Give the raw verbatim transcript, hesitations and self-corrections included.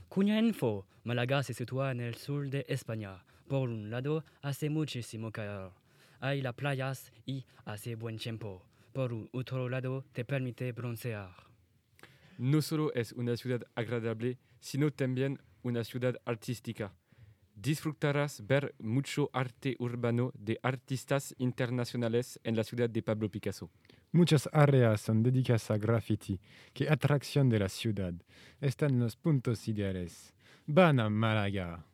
Cugna info, Málaga se sitúa en el sur de España. Por un lado, hace muchísimo calor. Hay las playas y hace buen tiempo. Por un otro lado, te permite broncear. No solo es una ciudad agradable, sino también una ciudad artística. Disfrutarás ver mucho arte urbano de artistas internacionales en la ciudad de Pablo Picasso. Muchas áreas son dedicadas a graffiti. ¡Qué atracción de la ciudad! Están los puntos ideales. Van a Málaga.